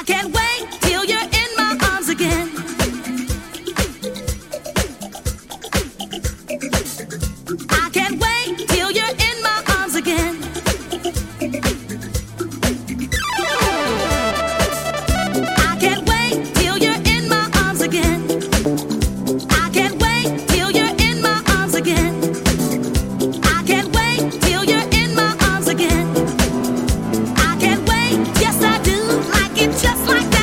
can't wait till you're in my arms again. I can't wait till you're in my arms again. I can't wait till you're in my arms again. I can't wait till you're in my arms again. I can't wait till you're in my arms again. I can't wait, yes I do, like it just like that.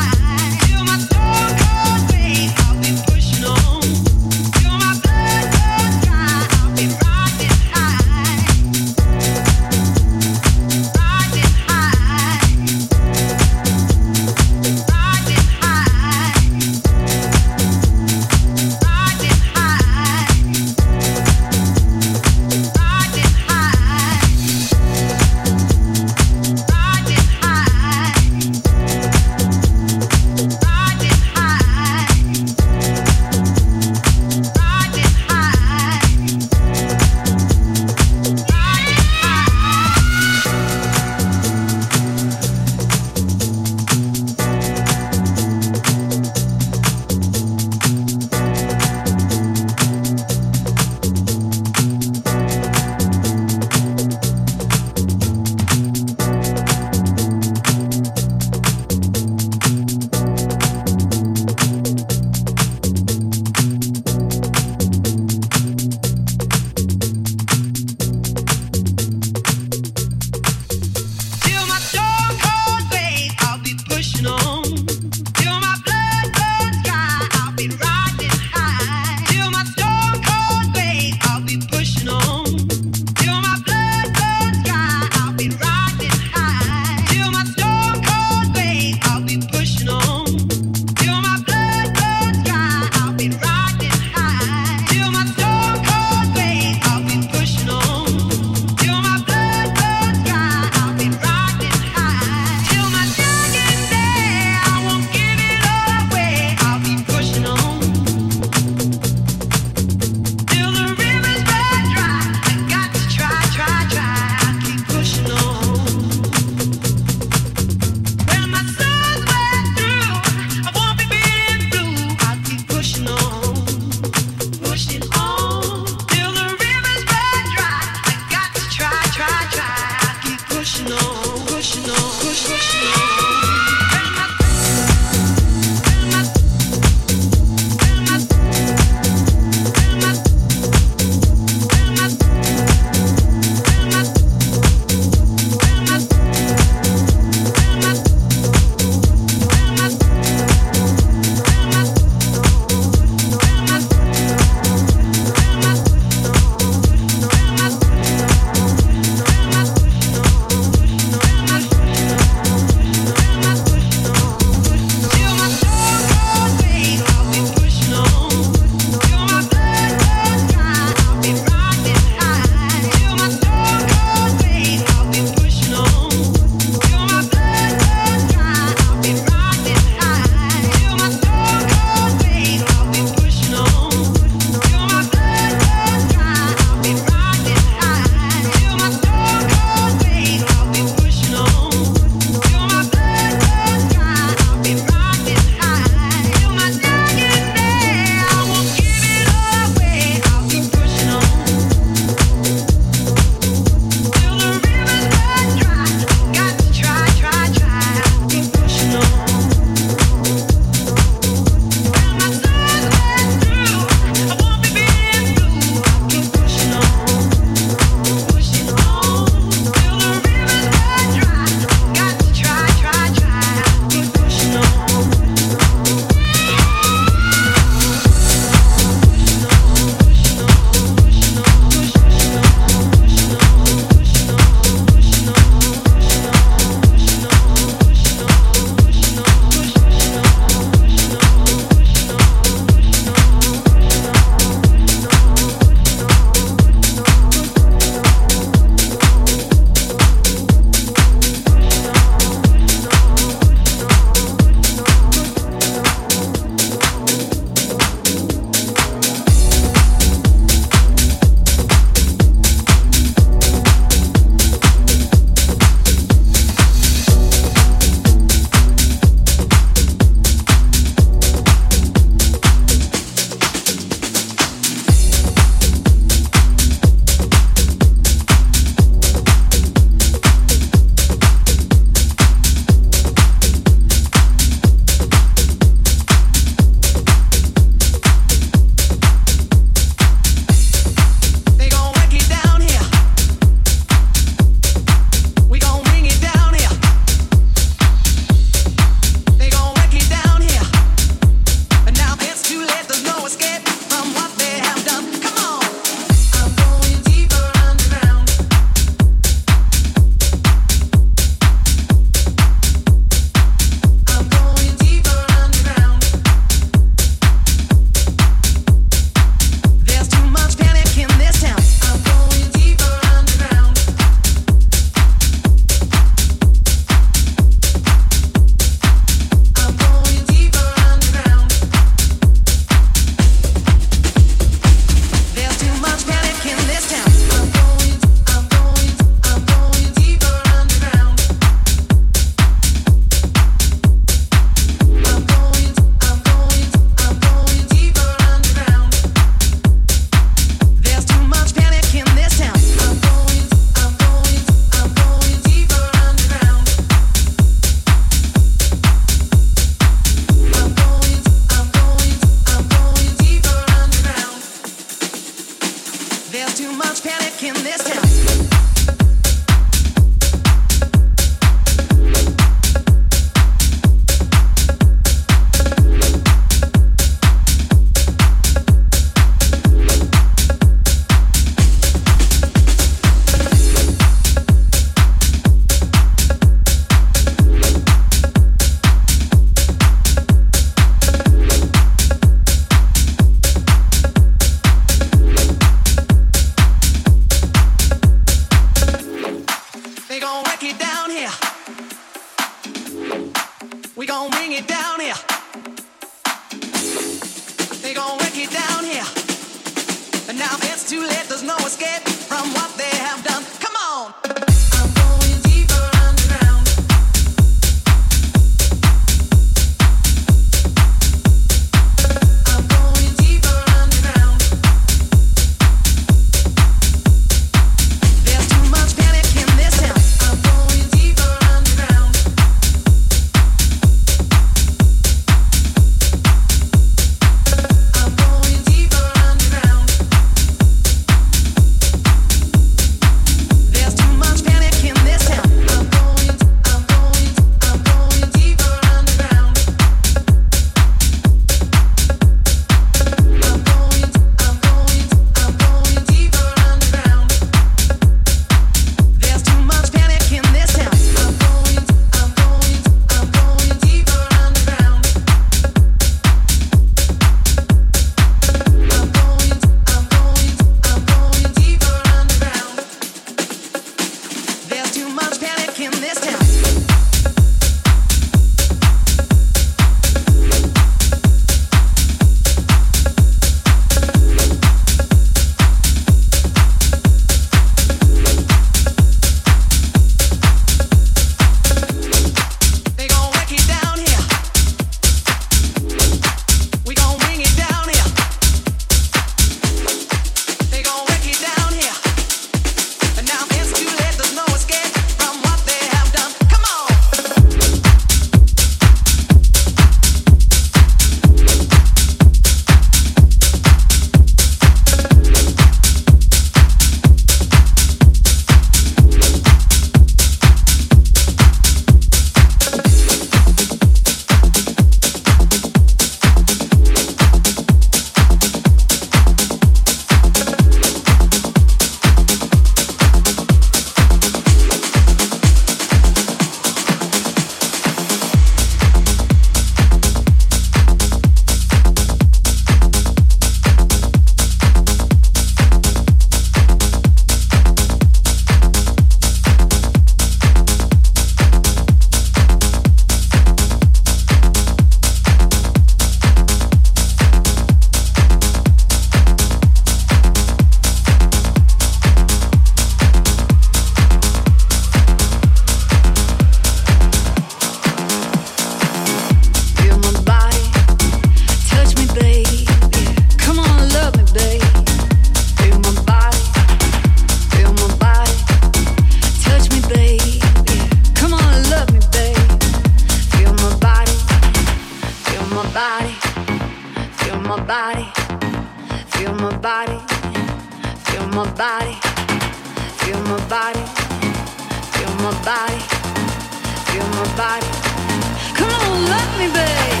body, feel my body, feel my body, feel my body, feel my body. Come on, love me, babe.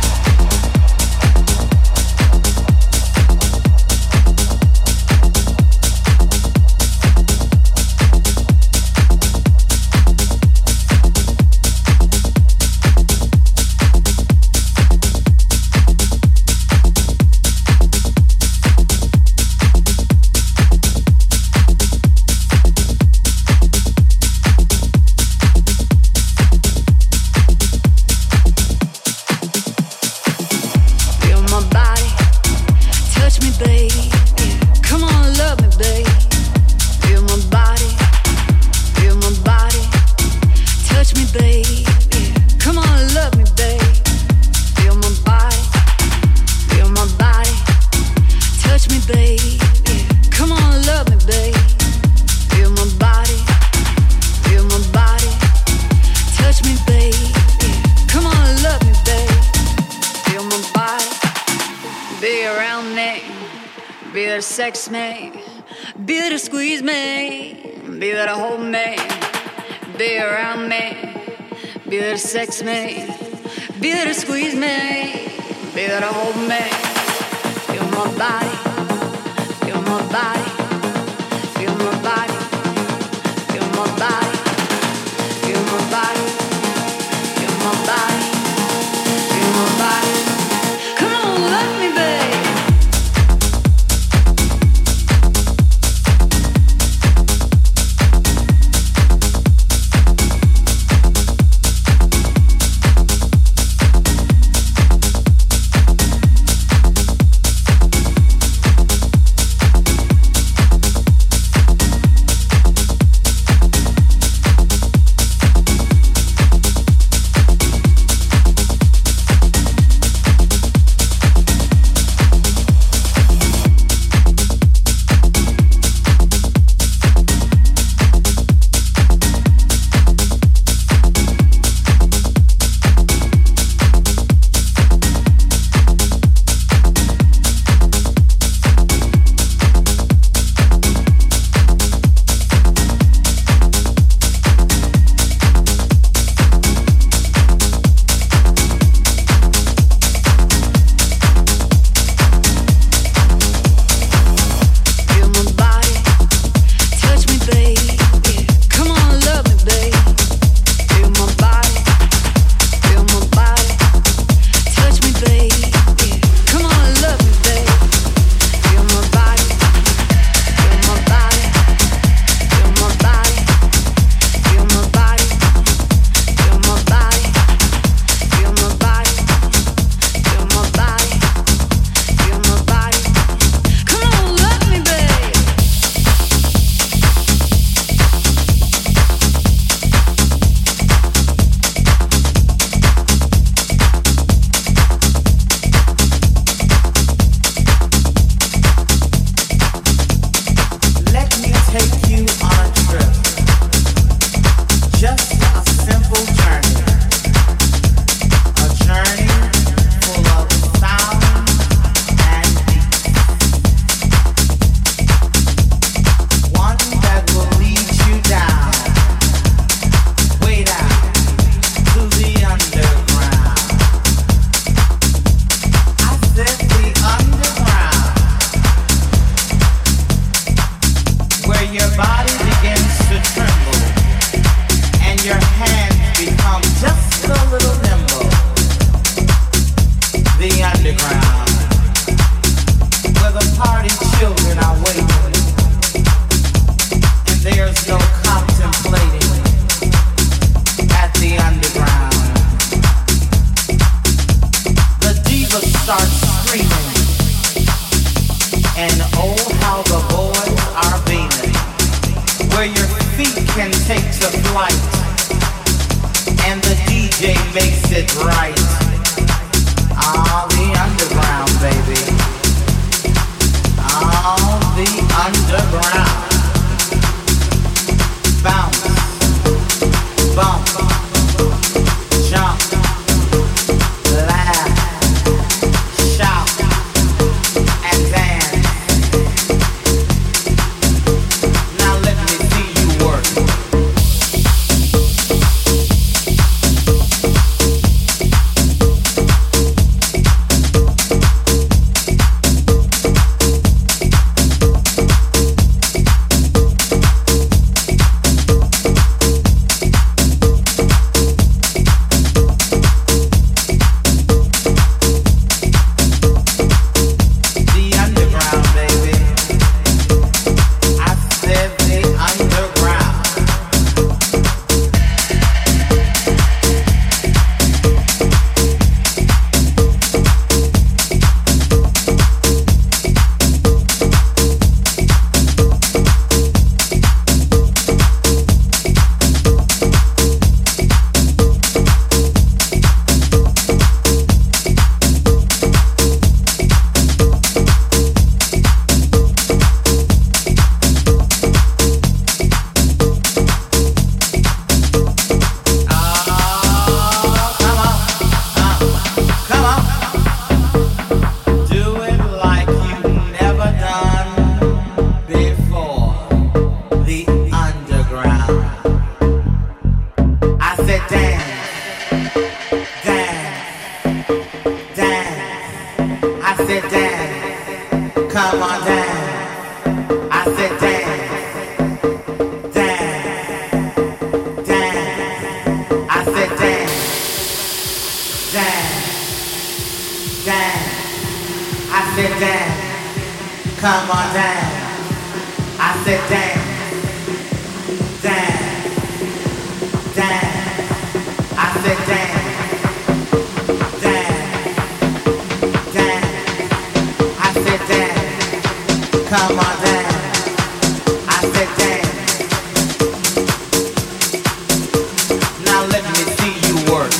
Sex me, be there to squeeze me, be there to hold me, be around me, be there to sex me, be there to squeeze me, be there to hold me. Feel my body, feel my body, feel my body, feel my body, feel my body, feel my body, feel my body. Come on, love me, babe. Come on down. I said down, down, down. I said down, down, down. I said down. Come on down. I said down, down, down. I said down. Come on down, I said down. Now let me see you work.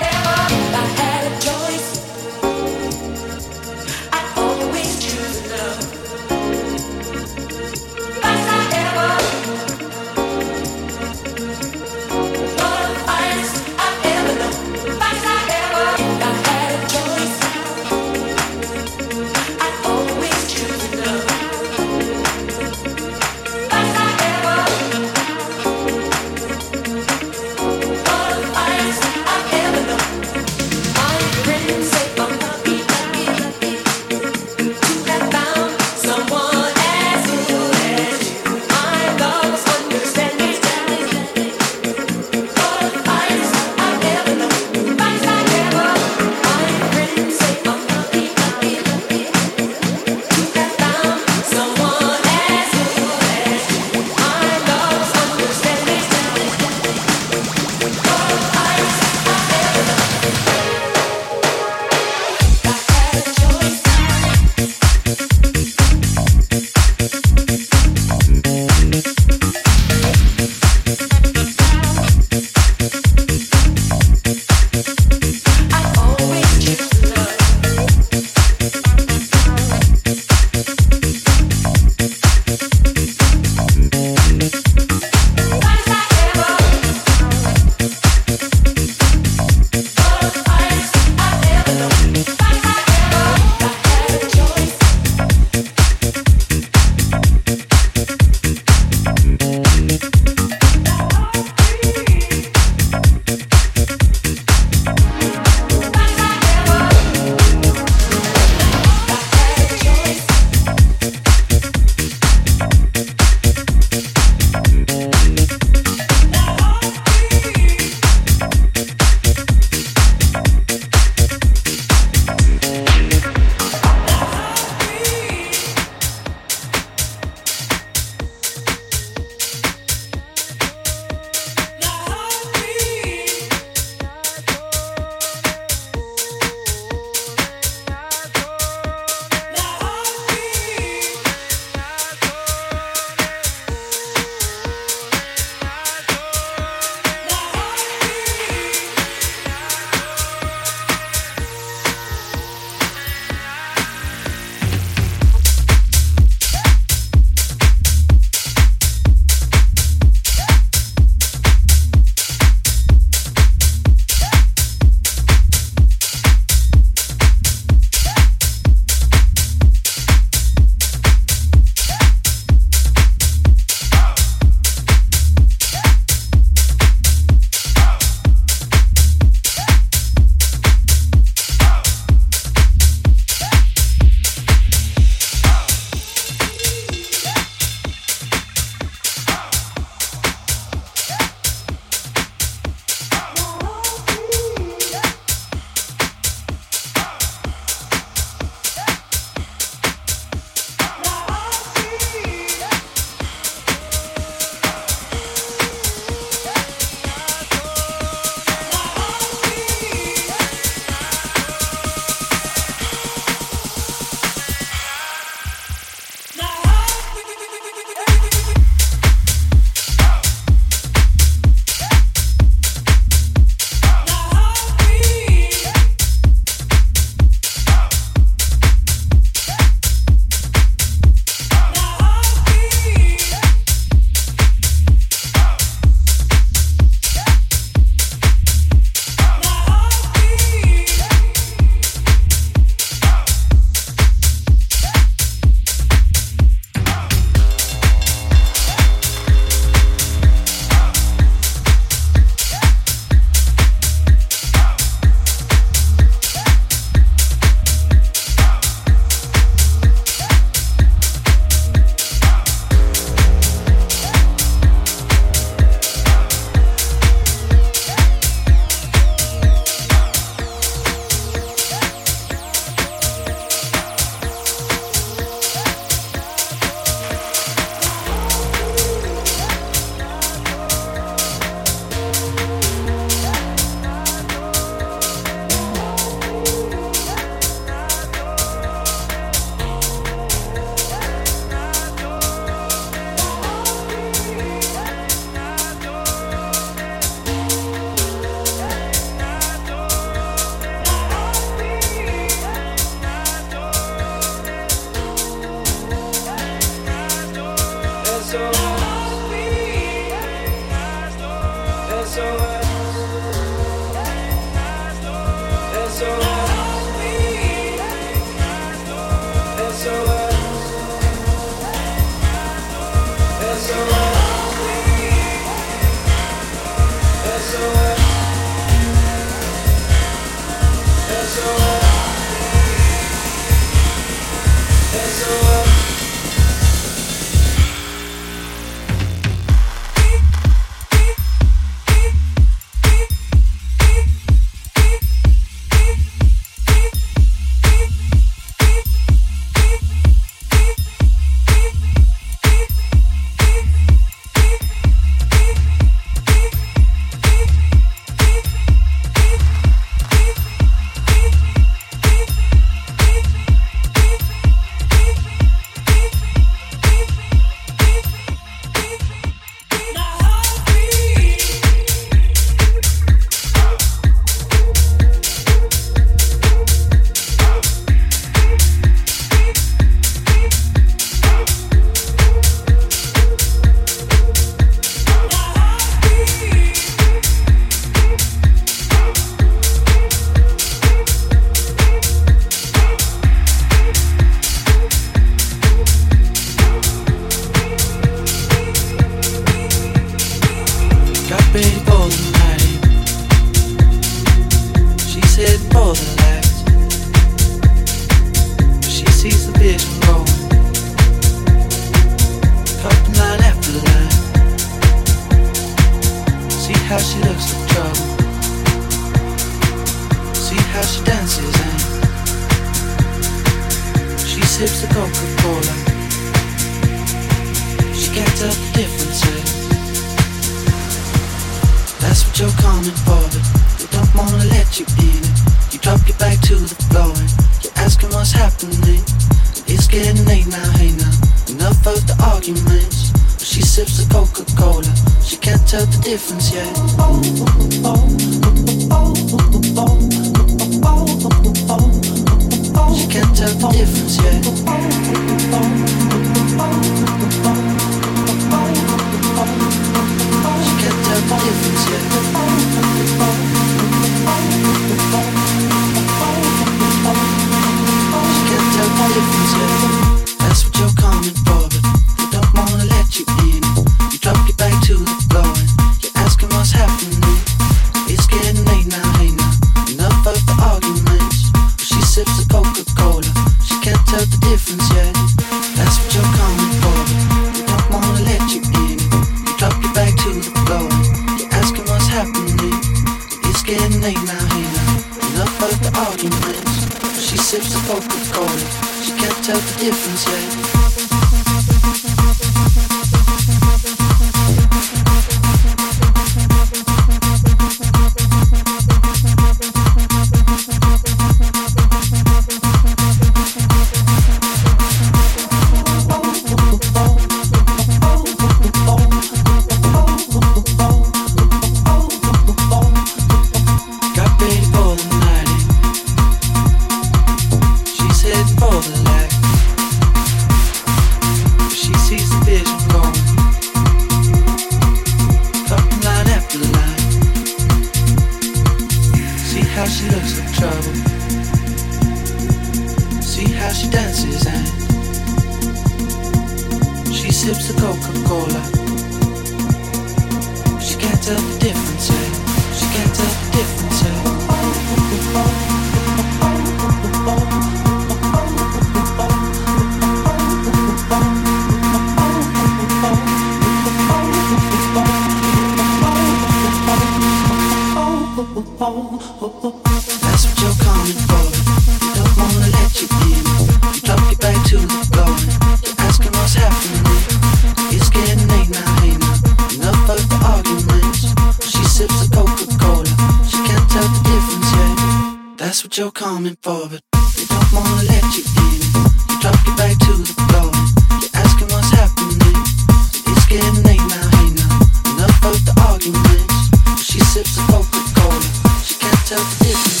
You're coming for, but they don't wanna let you in. You drop your back to the floor. You're asking what's happening. It's getting late now, hey now. Enough of the arguments. She sips the Coca-Cola. She can't tell the difference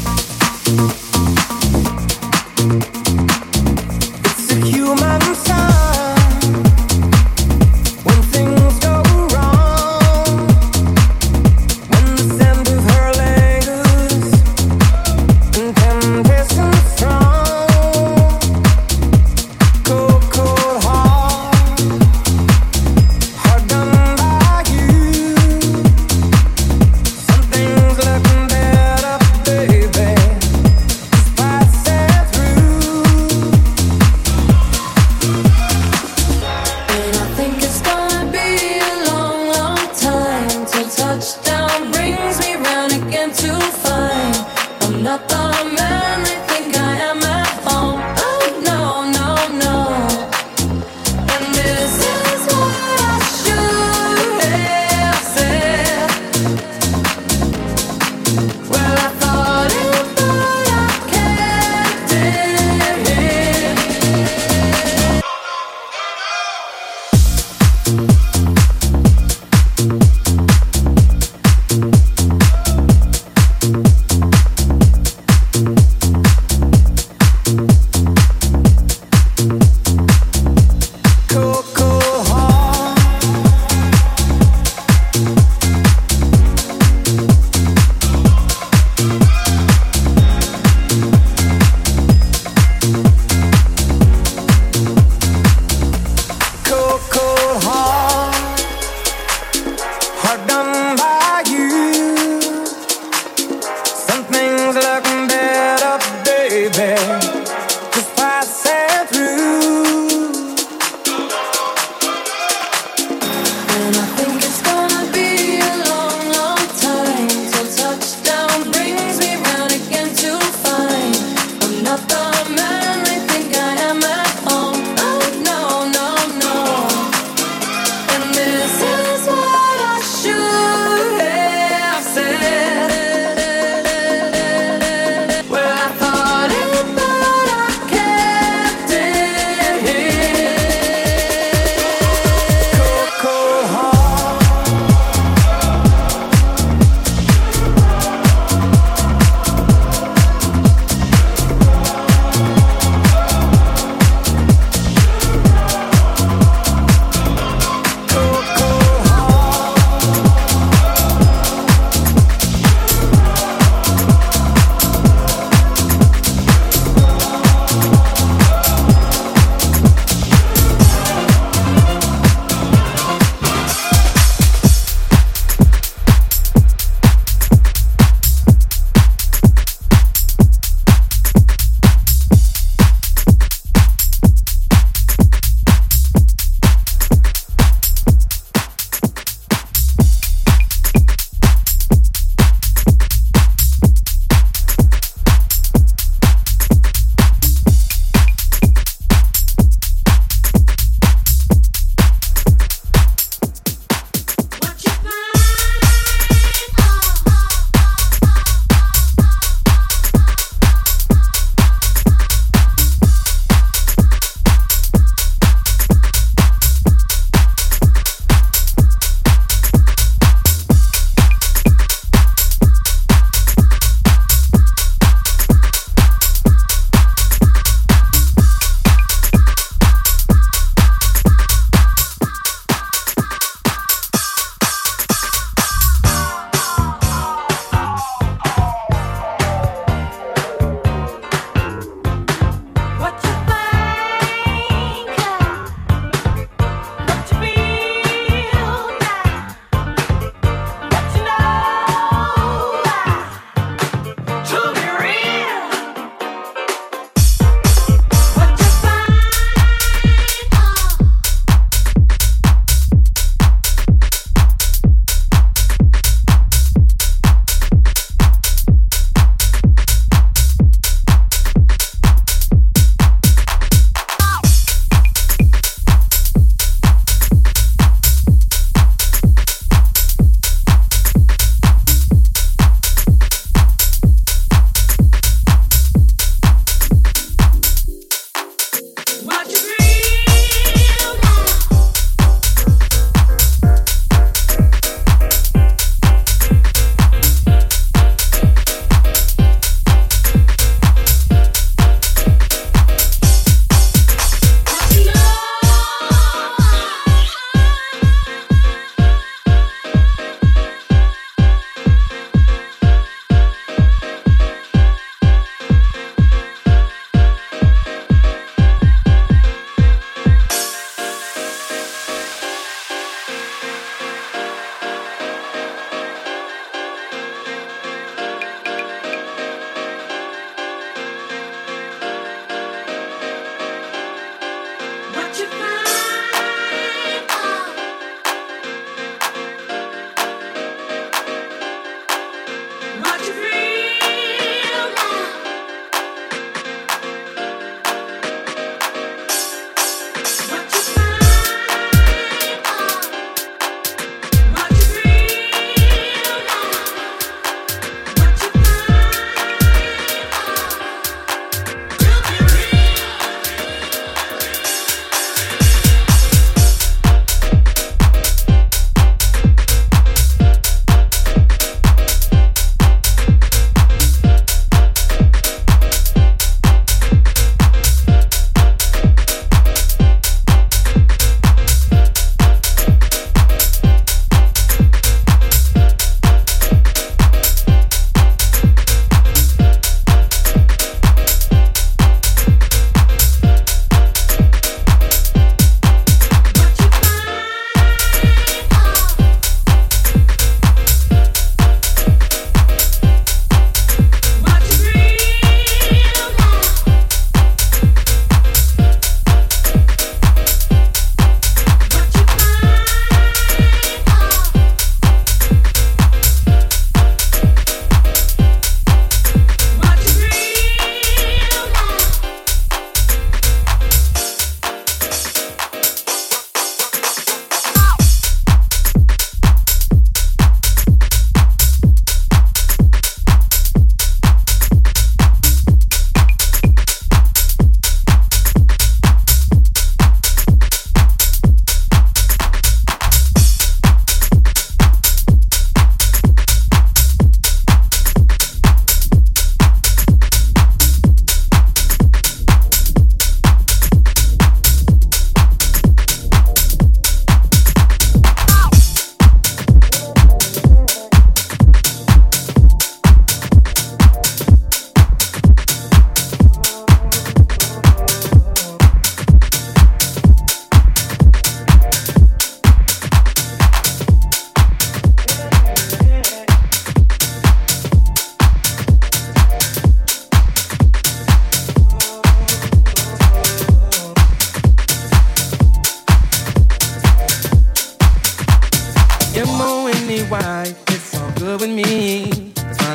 yet. It's a human sign.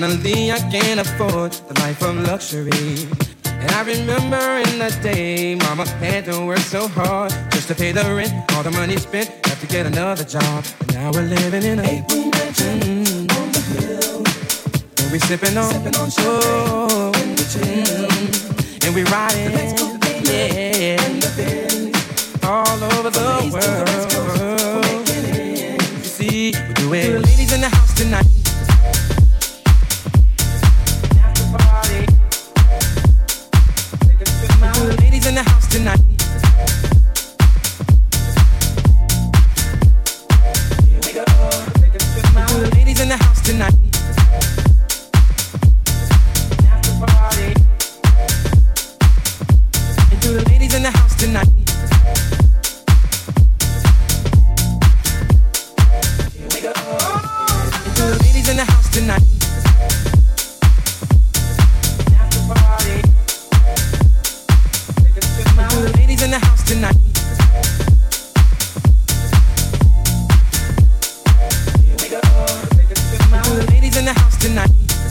finally I can afford the life of luxury. And I remember in the day, mama had to work so hard just to pay the rent. All the money spent, have to get another job. And now we're living in a 8-room mansion on the hill. And we sipping on show. And we riding, yeah, all over the world. You see, we do it. The ladies in the house tonight. In the house tonight. Here we go. Take it to my ladies in the house tonight. After party. Into the ladies in the house tonight. Here we go. Into the ladies in the house tonight. After party. To the ladies in the house tonight. Here we go. Take it to my ladies in the house tonight.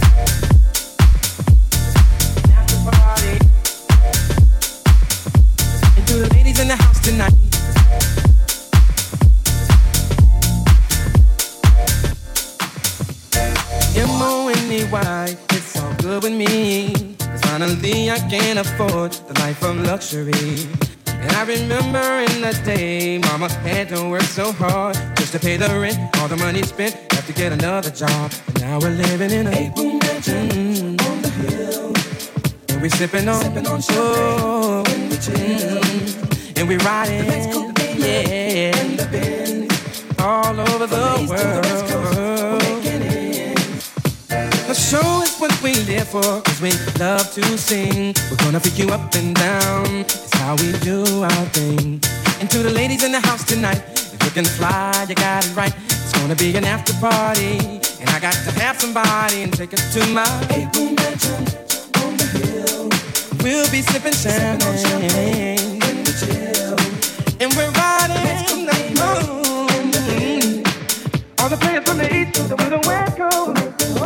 After party. And to the ladies in the house tonight. M-O-N-E-Y, it's all good with me. Finally I can afford the life of luxury. And I remember in the day, mama had to work so hard just to pay the rent. All the money spent, have to get another job. And now we're living in a 8-room mansion on the hill. And we sipping on show. And we riding, yeah, all over the world. The show is what we live for, cause we love to sing. We're gonna pick you up and down, it's how we do our thing. And to the ladies in the house tonight, if you can fly, you got it right. It's gonna be an after party, and I got to have somebody and take us to my 8-room mansion on the hill. We'll be sipping champagne when we chill, and we're riding the moon. All the players from the east to the west coast.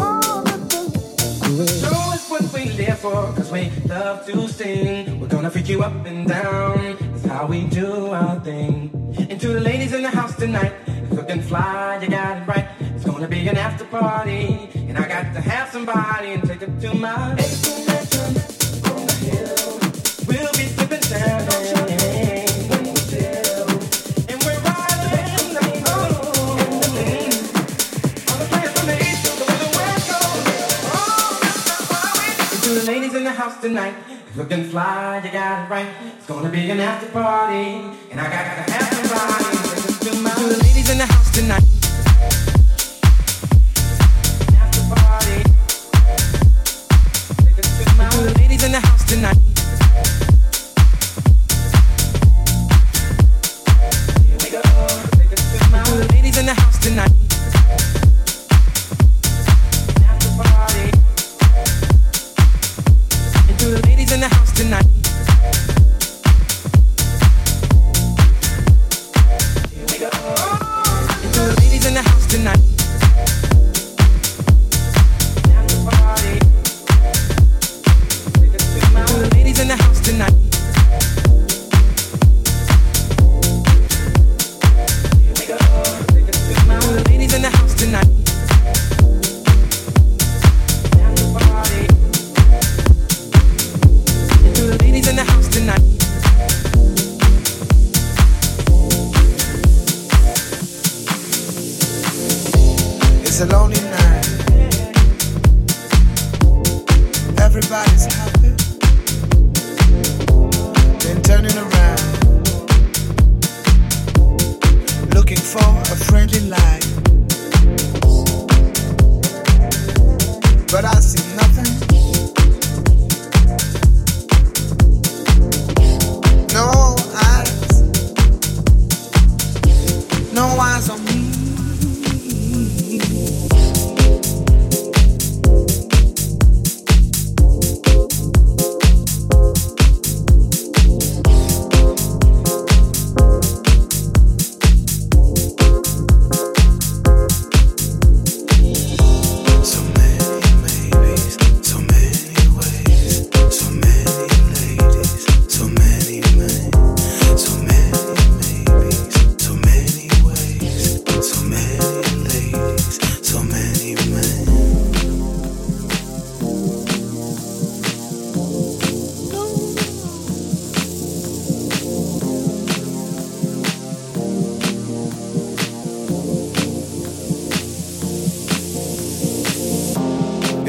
Show is what we live for, cause we love to sing. We're gonna freak you up and down, that's how we do our thing. And to the ladies in the house tonight, if you can fly, you got it right. It's gonna be an after party, and I got to have somebody and take it to my 8-room mansion on the hill. We'll be sipping champagne when we chill, and we're riding the moon. All the players from the east to the west coast. To the ladies in the house tonight, if you can fly, you got it right. It's gonna be an after party, and I got to have somebody to the ladies in the house tonight. After party, take us to the ladies in the house tonight. Here we go, take us to the ladies in the house tonight. After party. To the ladies in the house tonight. Here we go. To the ladies in the house tonight. After party. To the ladies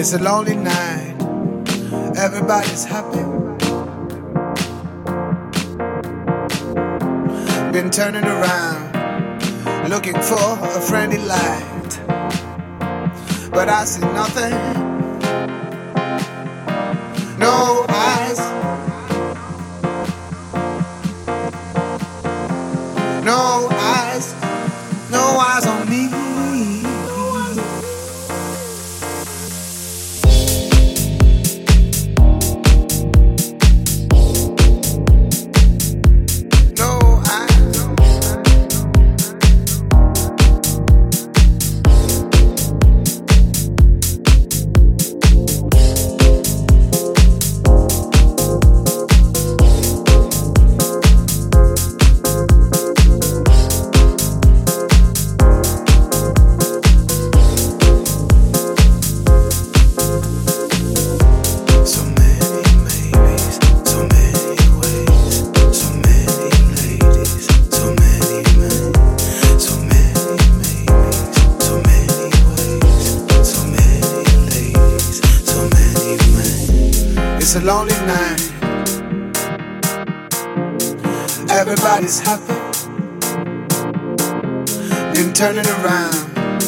It's a lonely night, everybody's happy. Been turning around, looking for a friendly light, but I see nothing, no eyes, no eyes, no eyes on me. It's a lonely night, everybody's happy. Been turning around,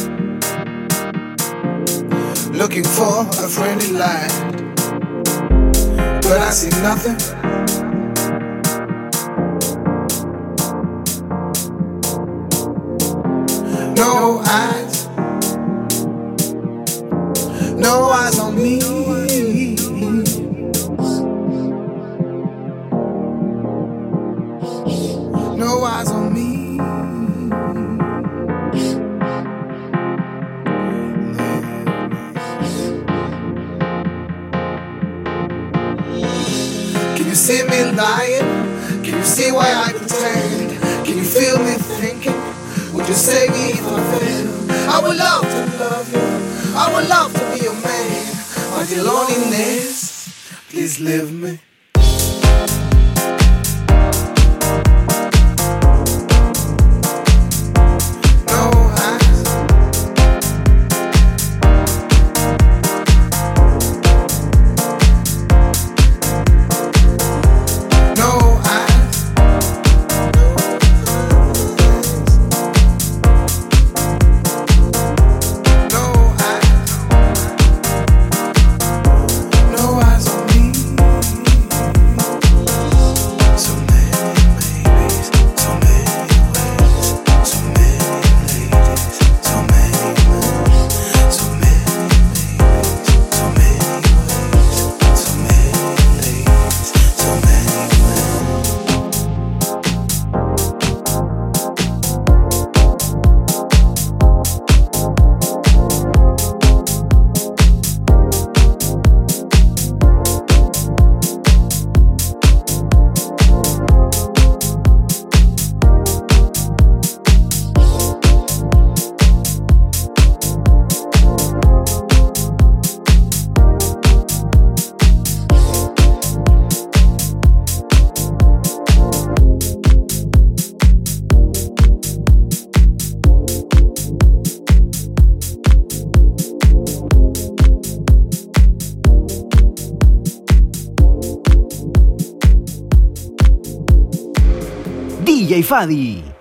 looking for a friendly light, but I see nothing, no eyes, no eyes on me. No eyes on me. Can you see me lying? Can you see why I pretend? Can you feel me thinking? Would you save me if I fail? I would love to love you, I would love to be your man, but your loneliness, please leave me. DJ Fadi.